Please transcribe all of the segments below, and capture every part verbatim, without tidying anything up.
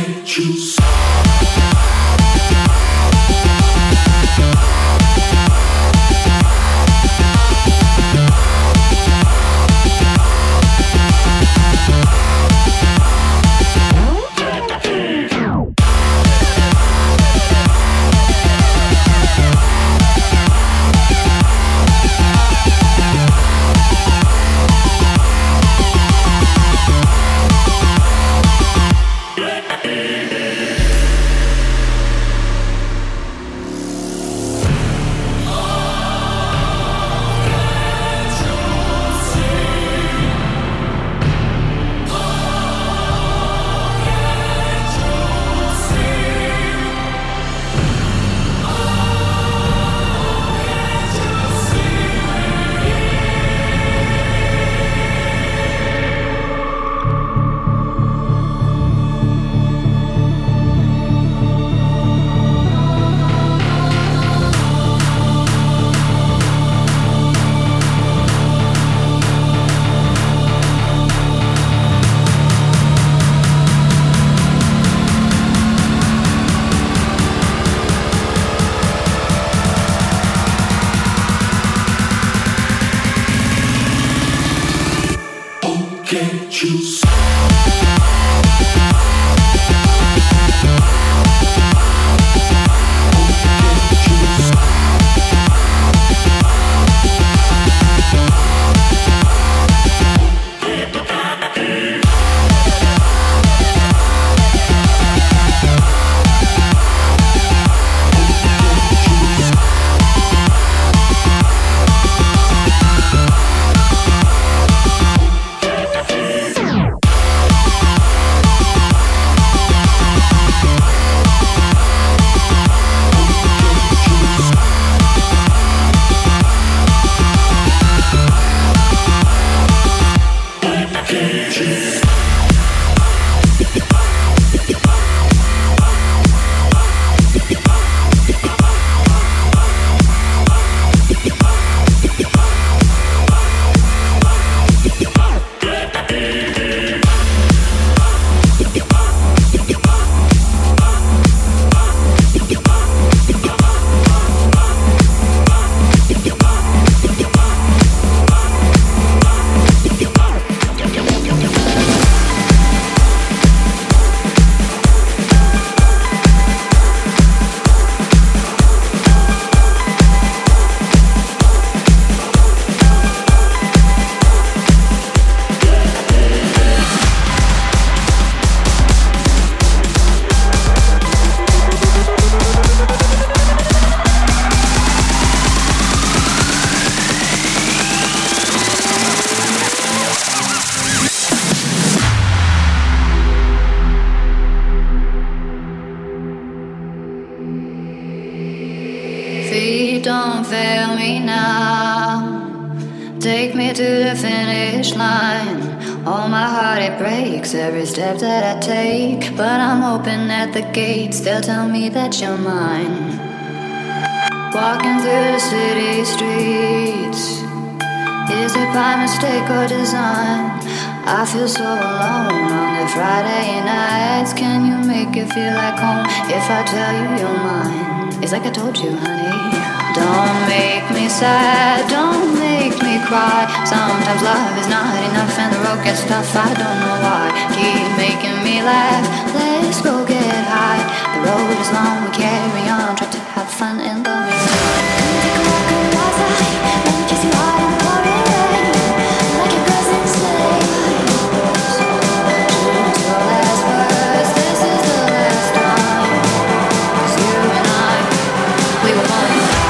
don't fail me now. Take me to the finish line. Oh, my heart, it breaks every step that I take. But I'm hoping at the gates they'll tell me that you're mine. Walking through the city streets, is it by mistake or design? I feel so alone on the Friday nights. Can you make it feel like home if I tell you you're mine? It's like I told you, honey. Don't make me sad, don't make me cry. Sometimes love is not enough and the road gets tough, I don't know why. Keep making me laugh, let's go get high. The road is long, we carry on, try to have fun in the meantime. Take a walk on the outside, let me kiss you hard in the pouring rain. Like your cousin sleigh. To our last words, this is the last time. 'Cause you and I, we were born to die.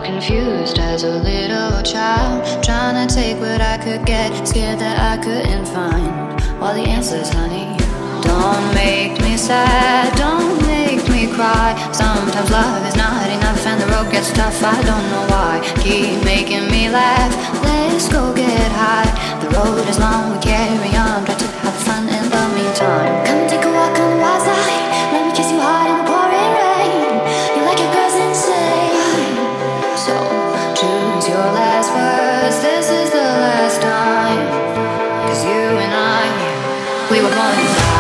confused as a little child, trying to take what I could get, scared that I couldn't find all the answers, honey. Don't make me sad, don't make me cry. Sometimes love is not enough and the road gets tough, I don't know why. Keep making me laugh, let's go get high. The road is long, we carry on, try to have fun in the meantime. Come and take a walk on the wild side, let me kiss you hard in the pouring rain. You like your girls insane, so choose your last words, this is the last time. Cause you and I, we were born to die.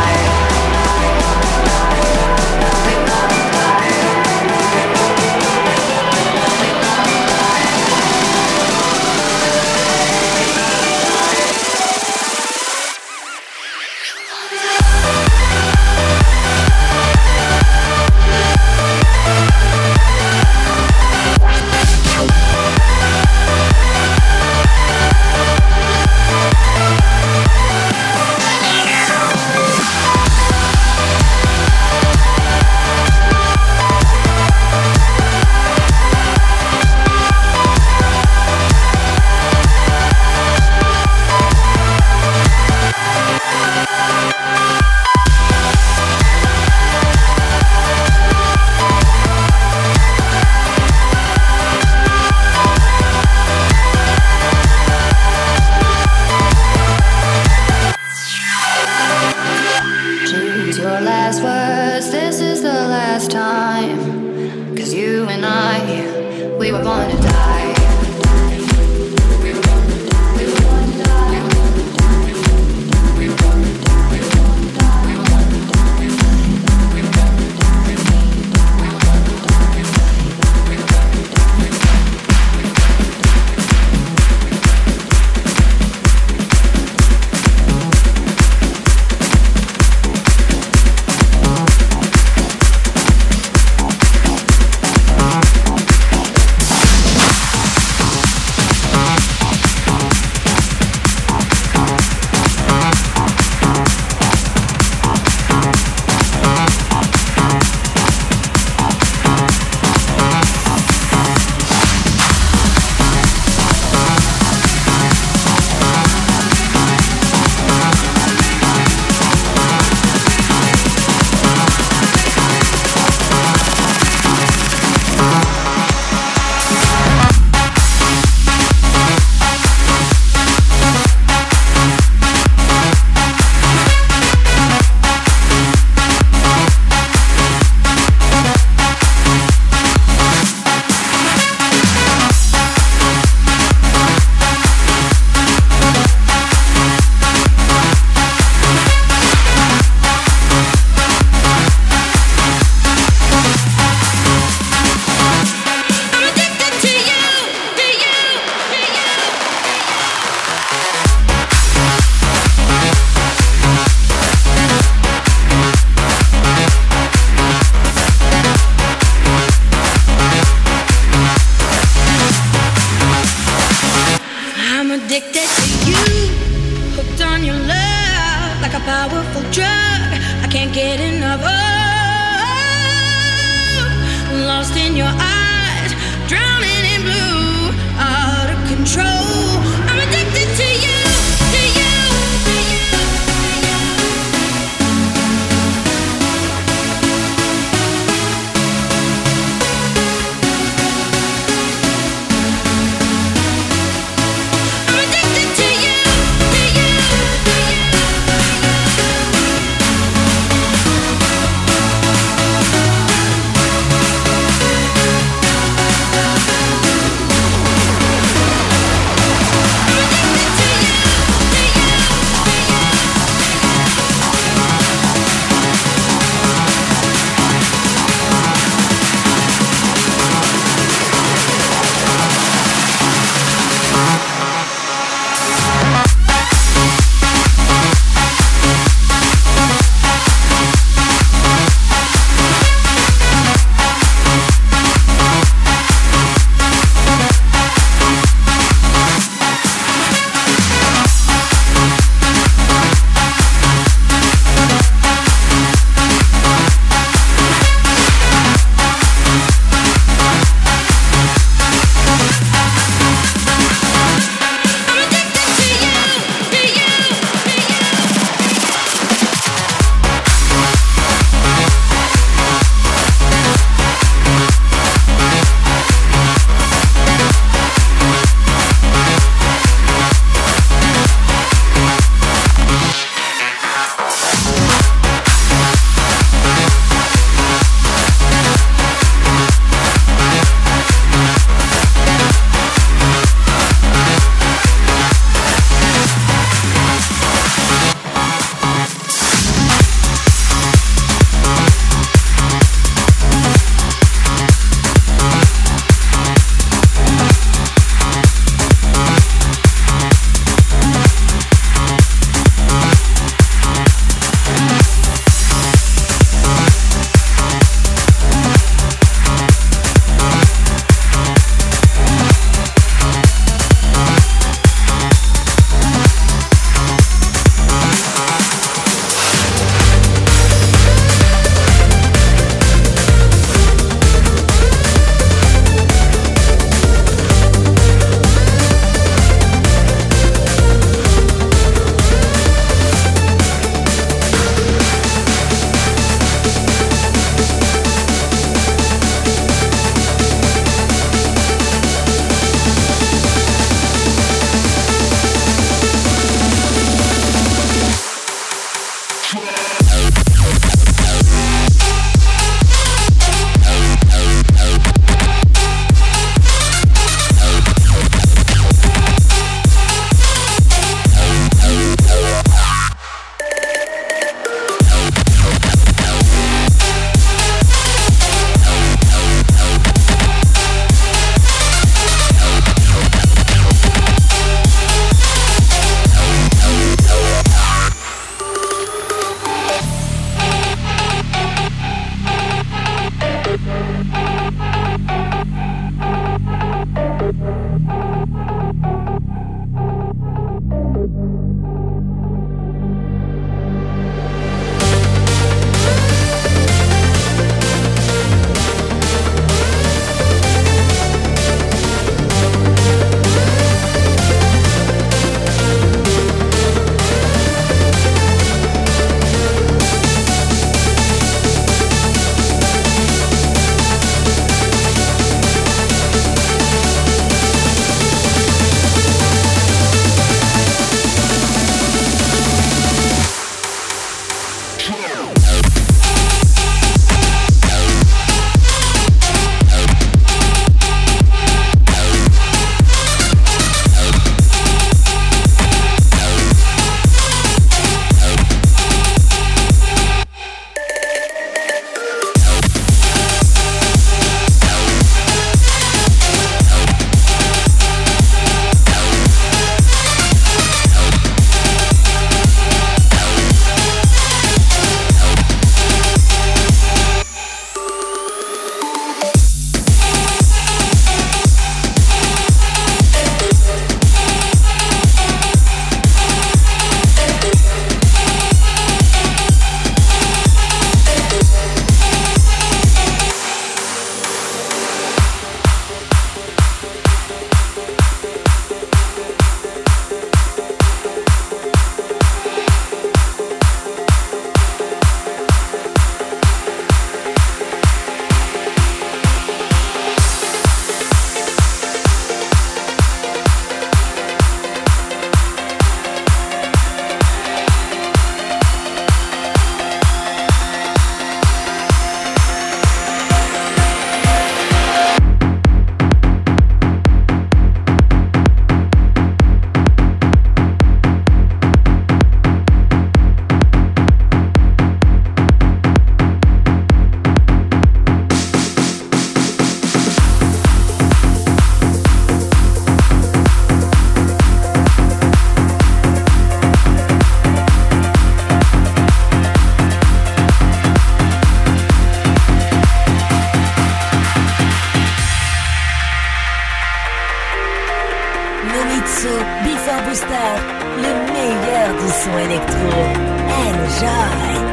Le meilleur du son électro. Enjoy.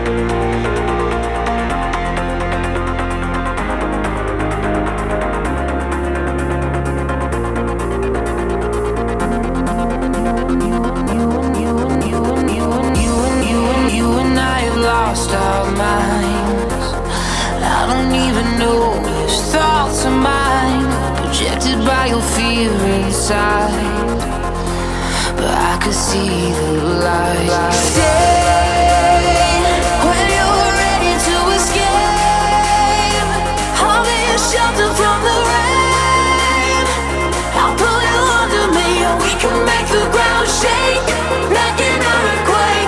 Lost our minds. I don't even know which thoughts are mine, projected by your fear inside. But I could see the light. Stay when you're ready to escape. I'll be a shelter from the rain. I'll pull you under me, and we can make the ground shake like an earthquake.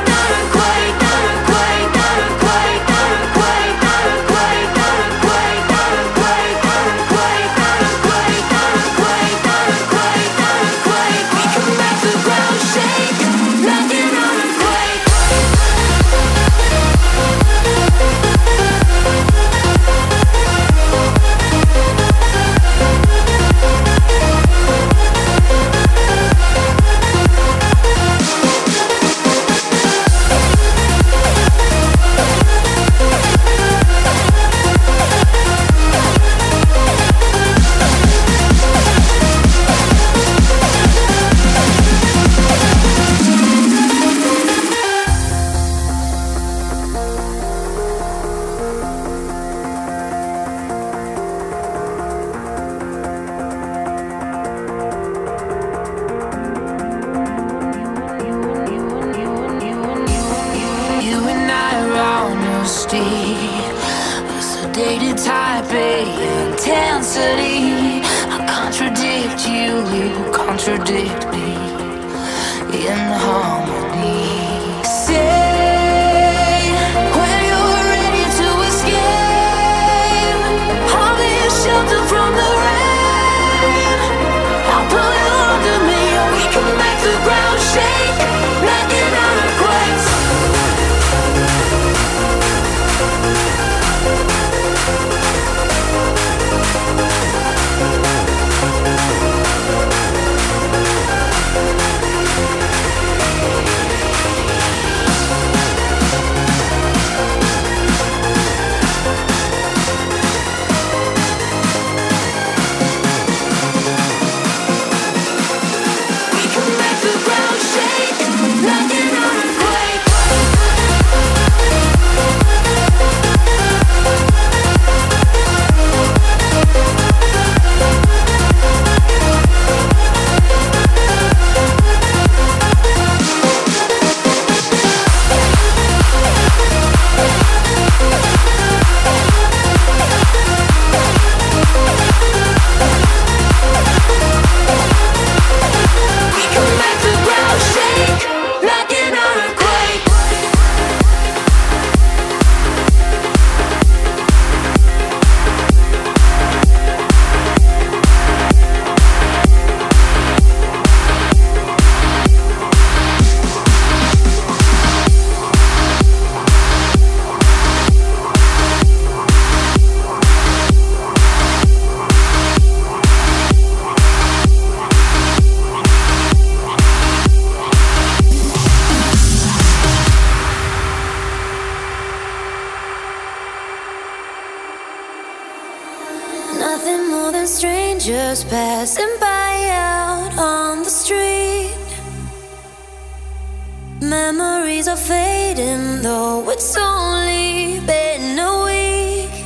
Contradict me in harmony. Say when you're ready to escape. I'll be a shelter from the rain. I'll pull you under me, and we can make the ground shake like an earthquake. Strangers passing by out on the street. Memories are fading, though it's only been a week.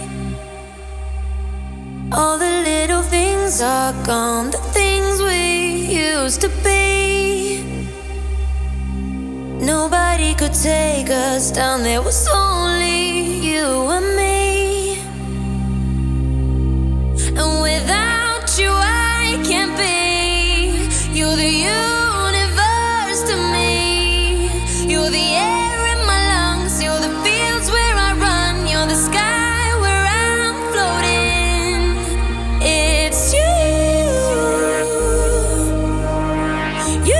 All the little things are gone, the things we used to be. Nobody could take us down, there was only you and me. And without you I can't be. You're the universe to me. You're the air in my lungs. You're the fields where I run. You're the sky where I'm floating. It's you. You.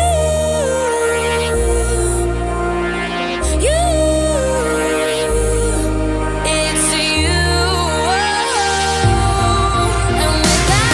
You. It's you. And without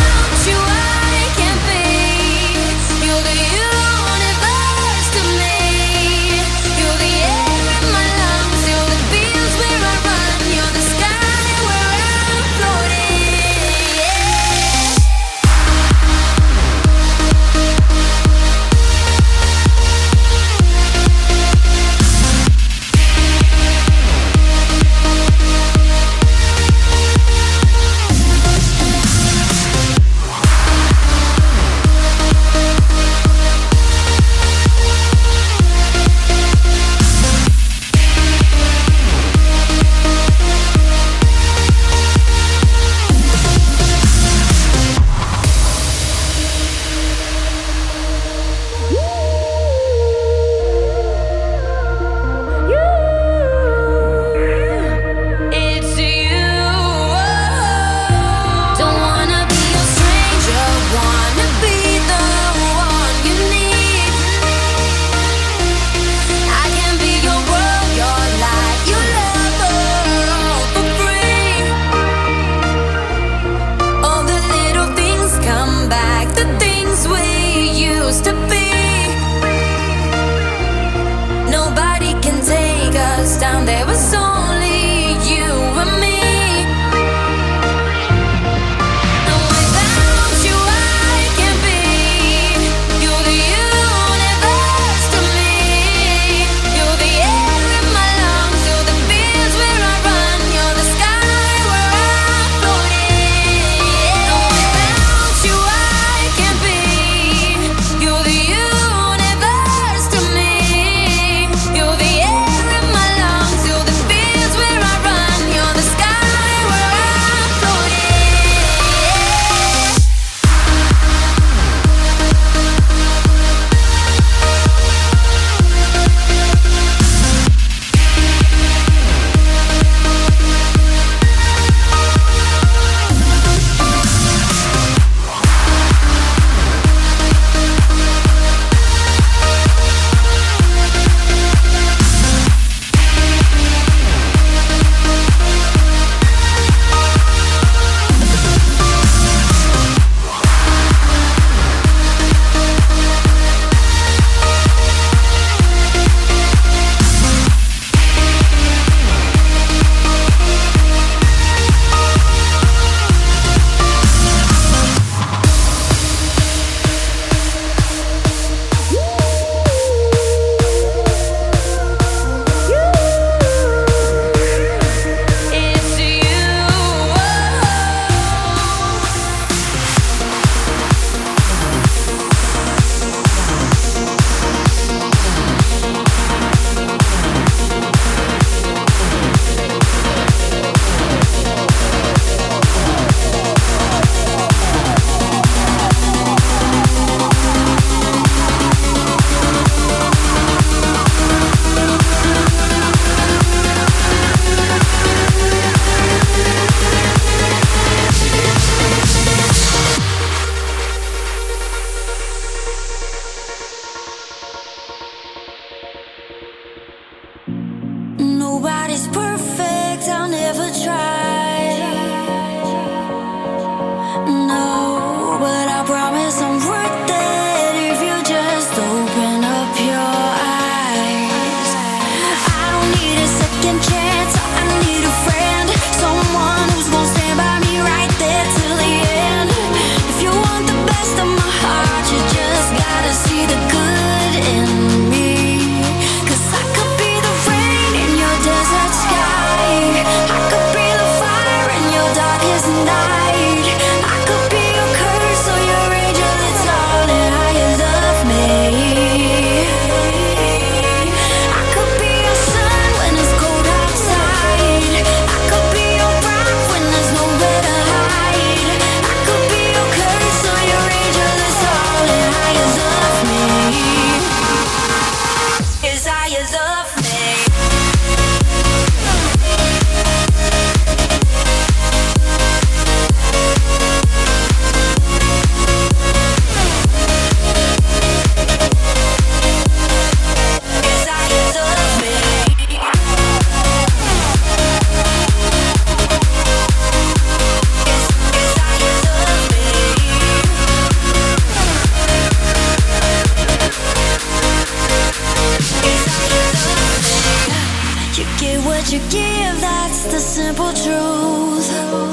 that you give, that's the simple truth.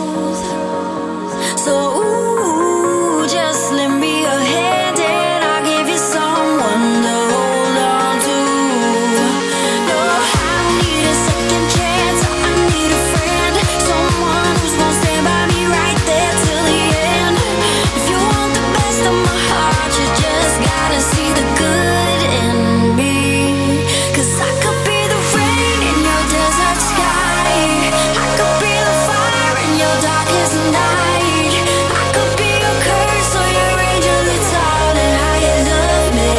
So ooh, just lend me a hand and I'll give you someone to hold on to. No, I don't need a second chance, I need a friend, someone who's gonna stand by me right there till the end. If you want the best of my heart, you just gotta see the good in me. 'Cause I could be the rain in your desert sky, I could be the fire in your darkest night, I could be your curse or your angel, it's all in how you love me.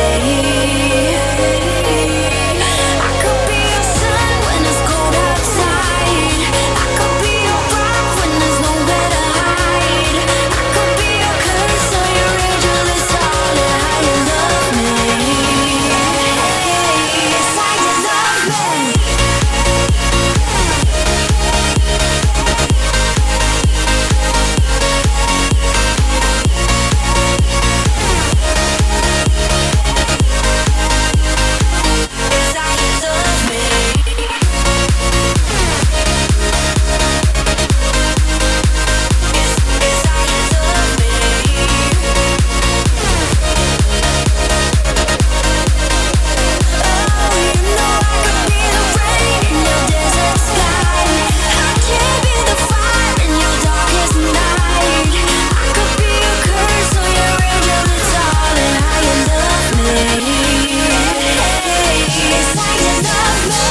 I could be your sun when it's cold outside, I could be your rock when there's nowhere to hide, I could be your curse or your angel, it's all in how you love me. It's how you love me. It's how you love me. It's, it's how you love me. Oh, you know I could be the rain in your desert sky, I can be the fire in your darkest night, I could be your curse or your angel, it's all in how you love me. It's how you love me.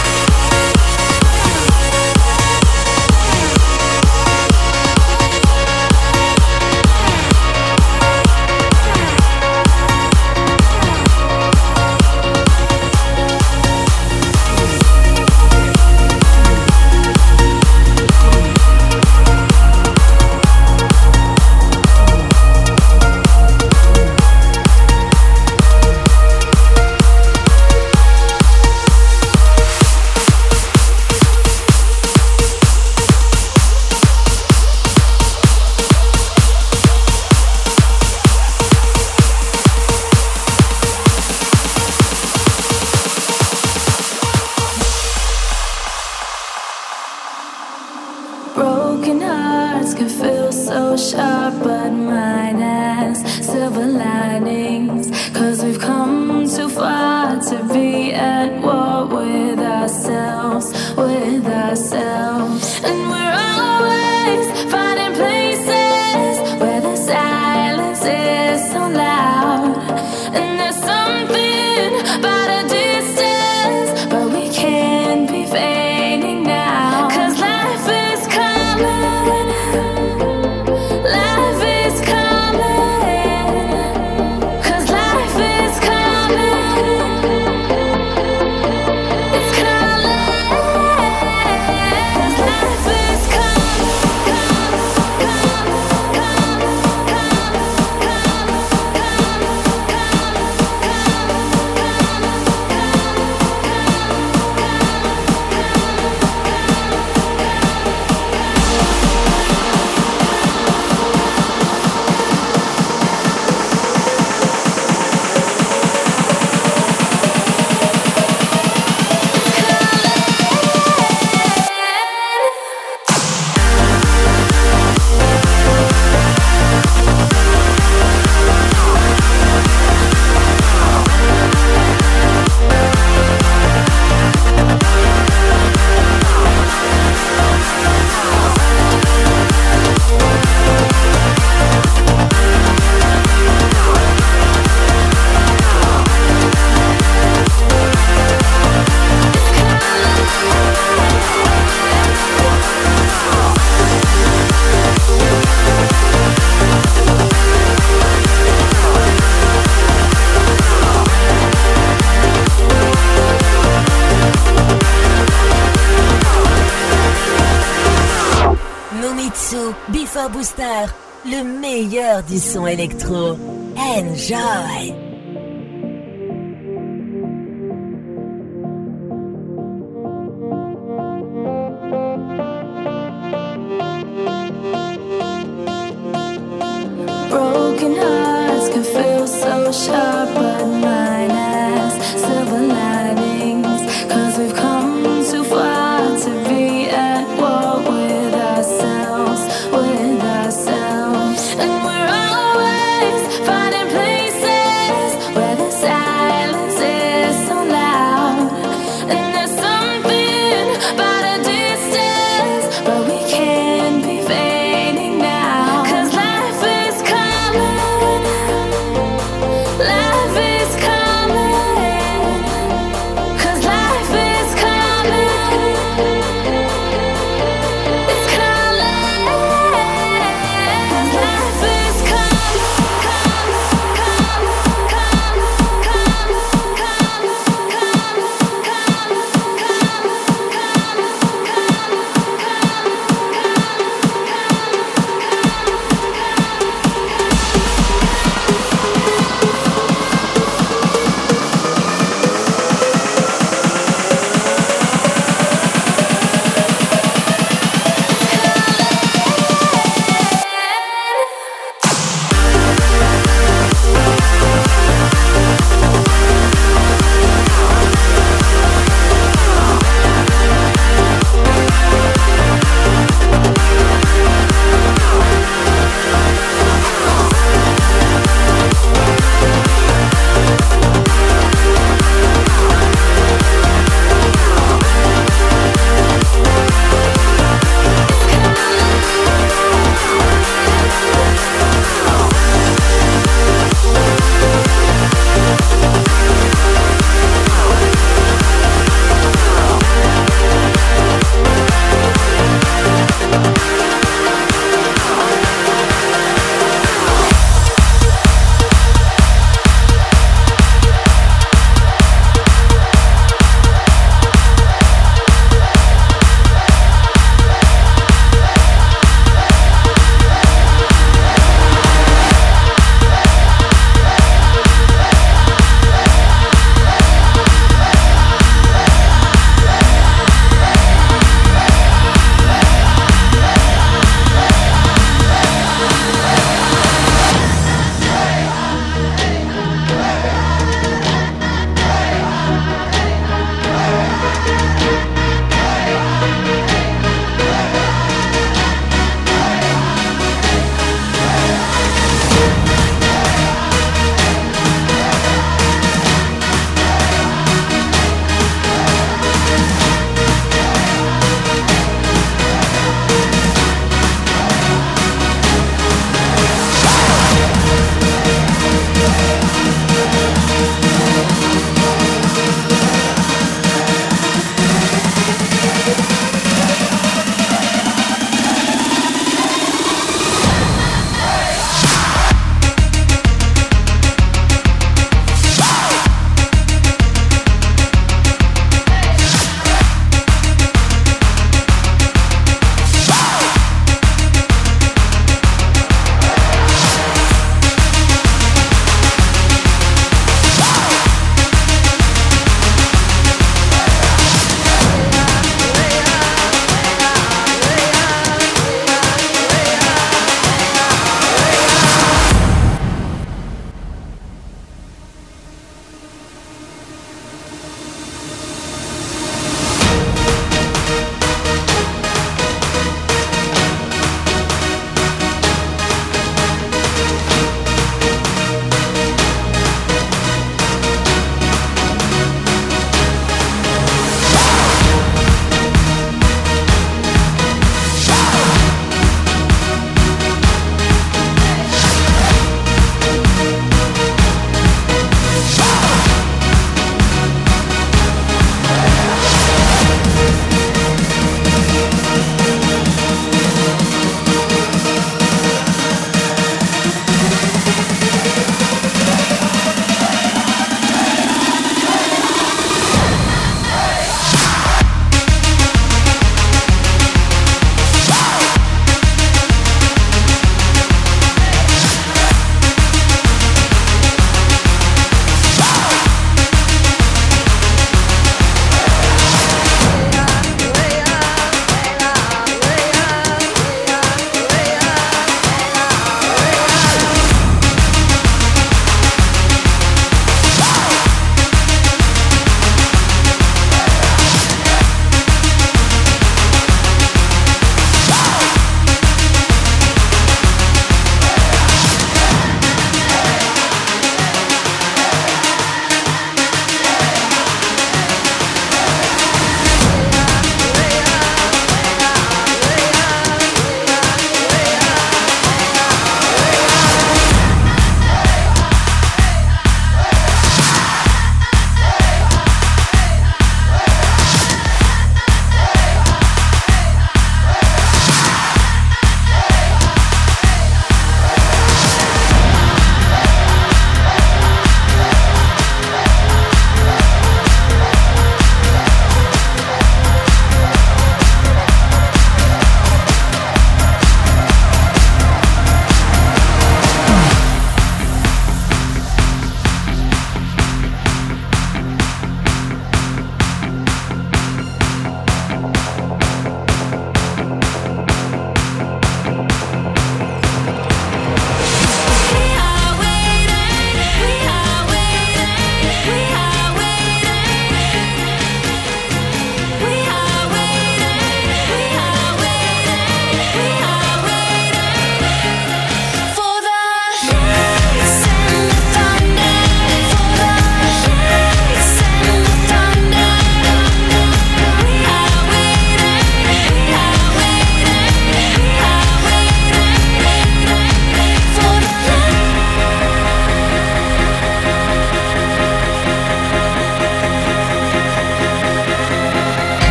Broken hearts can feel so sharp, but mine has silver linings. 'Cause we've come too far to be at war with ourselves, with ourselves. And we're always finding places where the silence is so loud. And there's something about a distance, but we can't be fading now. 'Cause life is coming, life is coming, 'cause life is coming, it's coming, 'cause life is Before Booster, le meilleur du son électro. Enjoy! Broken hearts can feel so sharp, but mine has silver linings. 'Cause we've come too far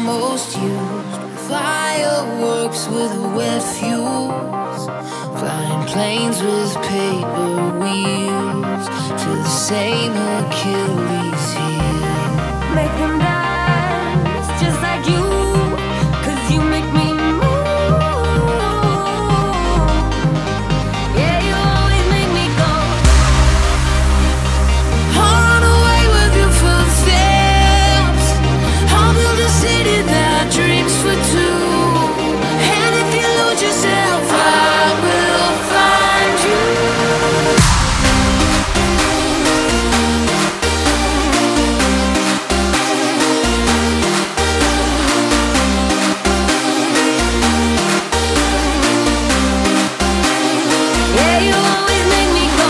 most used. Fireworks with wet fuse. Flying planes with paper wheels to the same Achilles heel. Make them dance just like you, 'cause you make me dreams for two, and if you lose yourself, I will find you. yeah, you always make me go.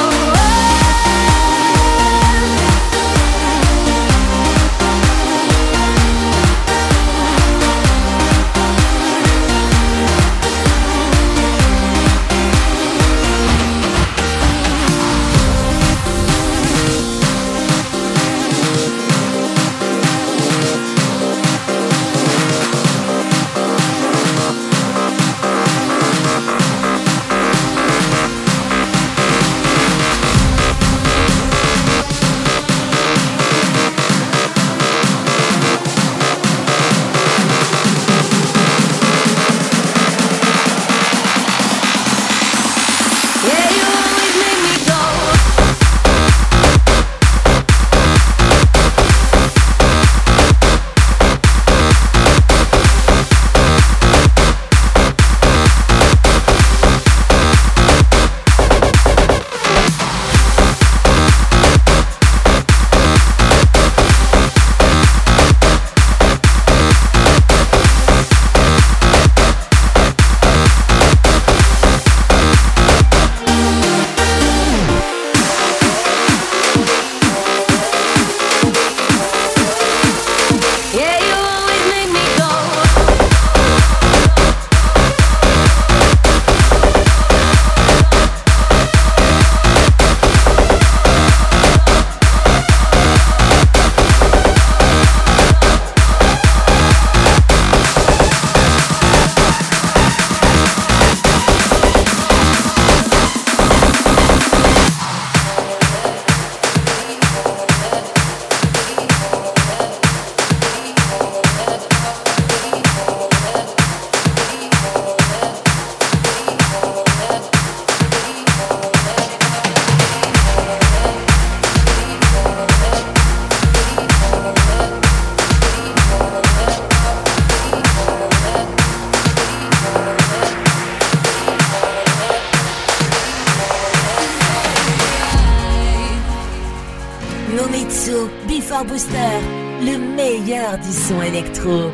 Before Booster, le meilleur du son électro.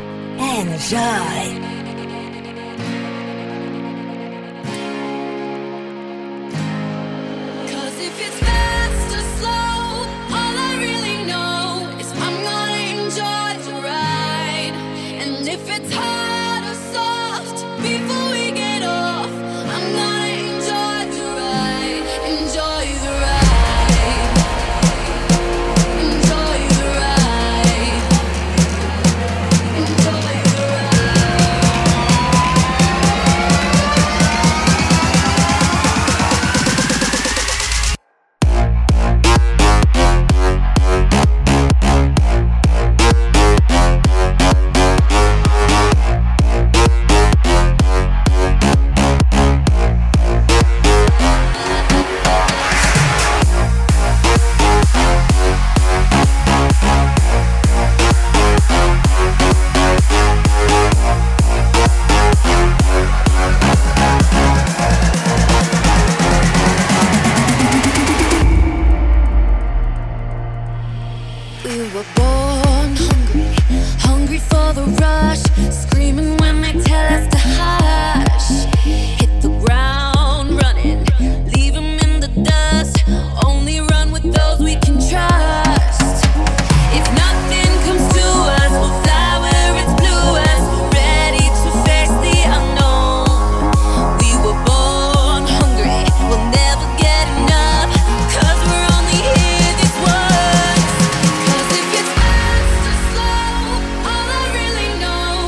Enjoy! Know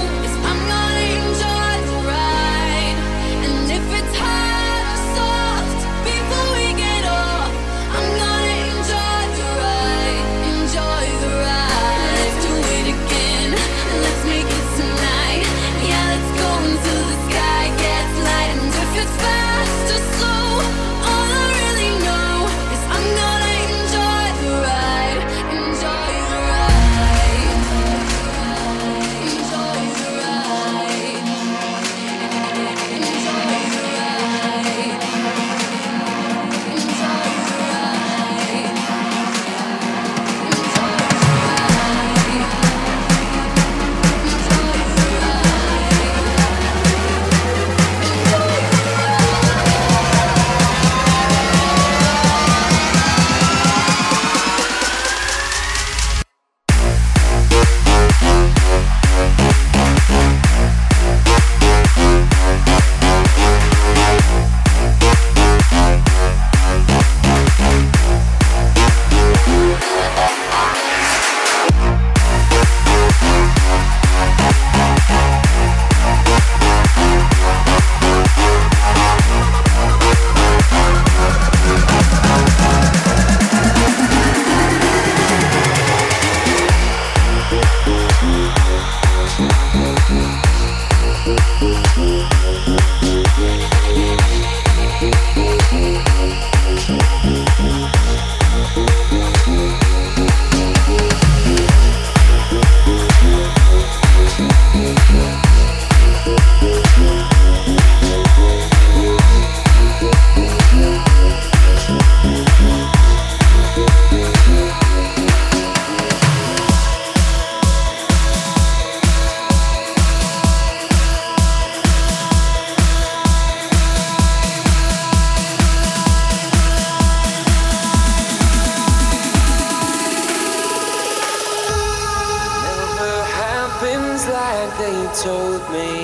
they told me.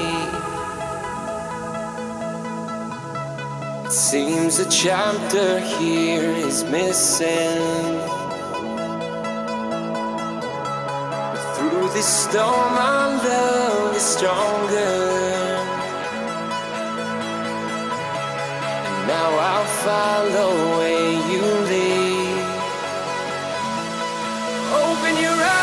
It seems a chapter here is missing. But through this storm our love is stronger. And now I'll follow where you lead. Open your eyes.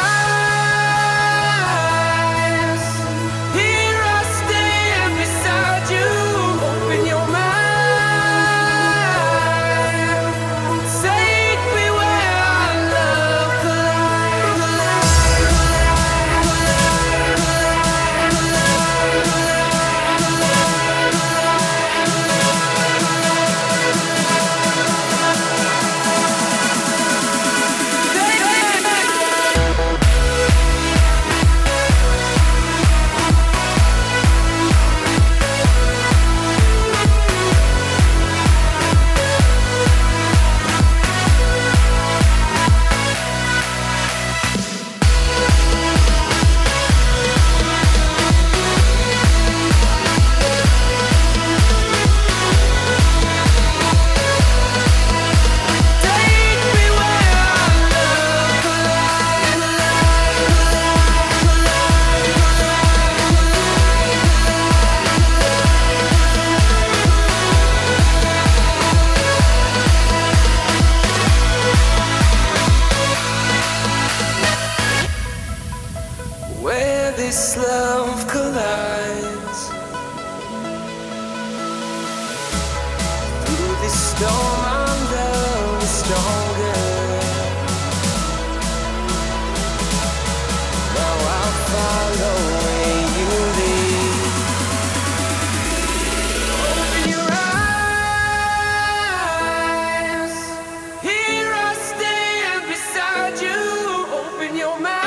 This love collides. Through this storm our love is stronger. Now I'll follow where you lead. Open your eyes. Here I stand beside you. Open your mind.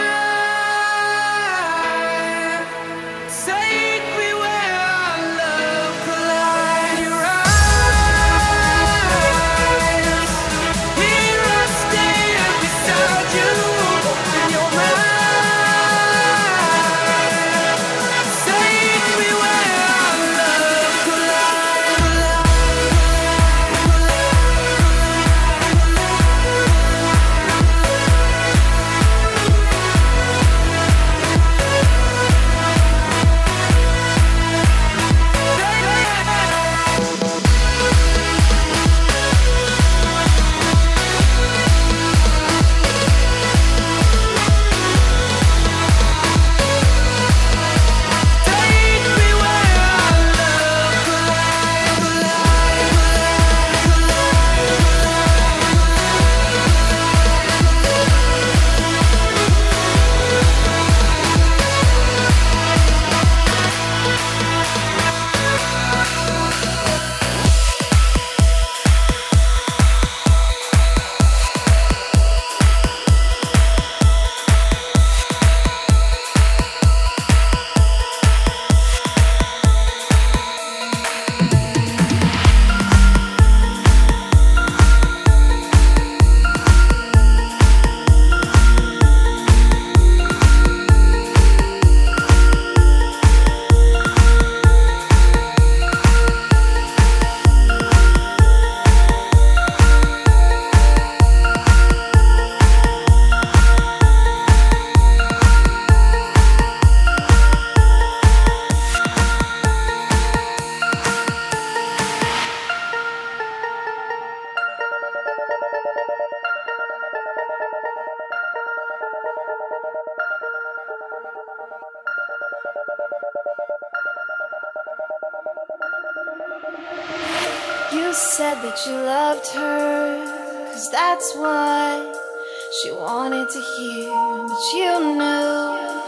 You said that you loved her, 'cause that's what she wanted to hear. But you knew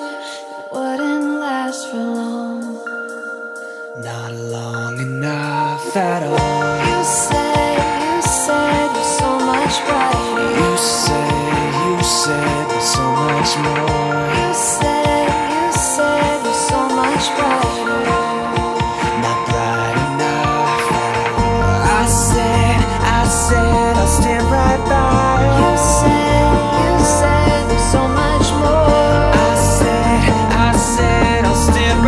it wouldn't last for long. Not long enough at all. You said, you said you're so much brighter. You said, you said there's so much more. You said, you said you're so much brighter. Not bright enough at all. I said, I said I'll stand right by you. You said, you said there's so much more. I said, I said I'll stand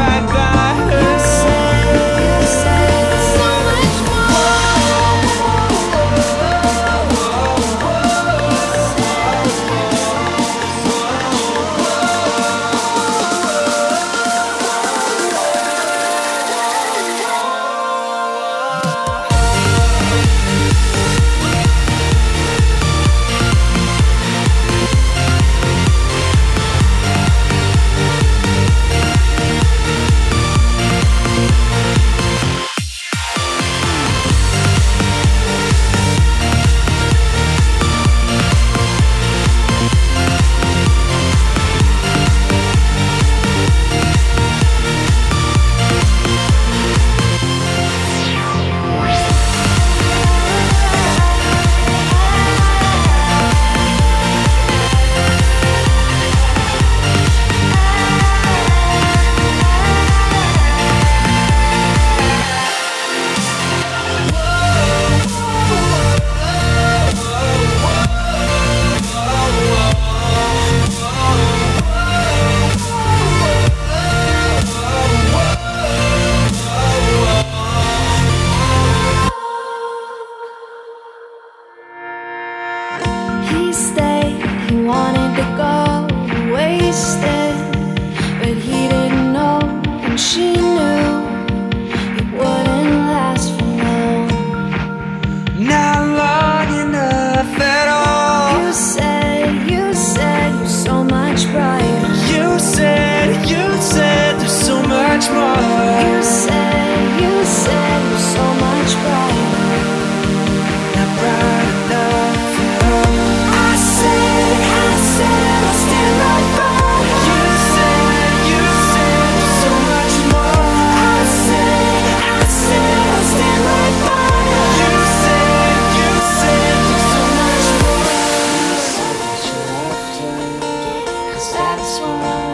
swim away.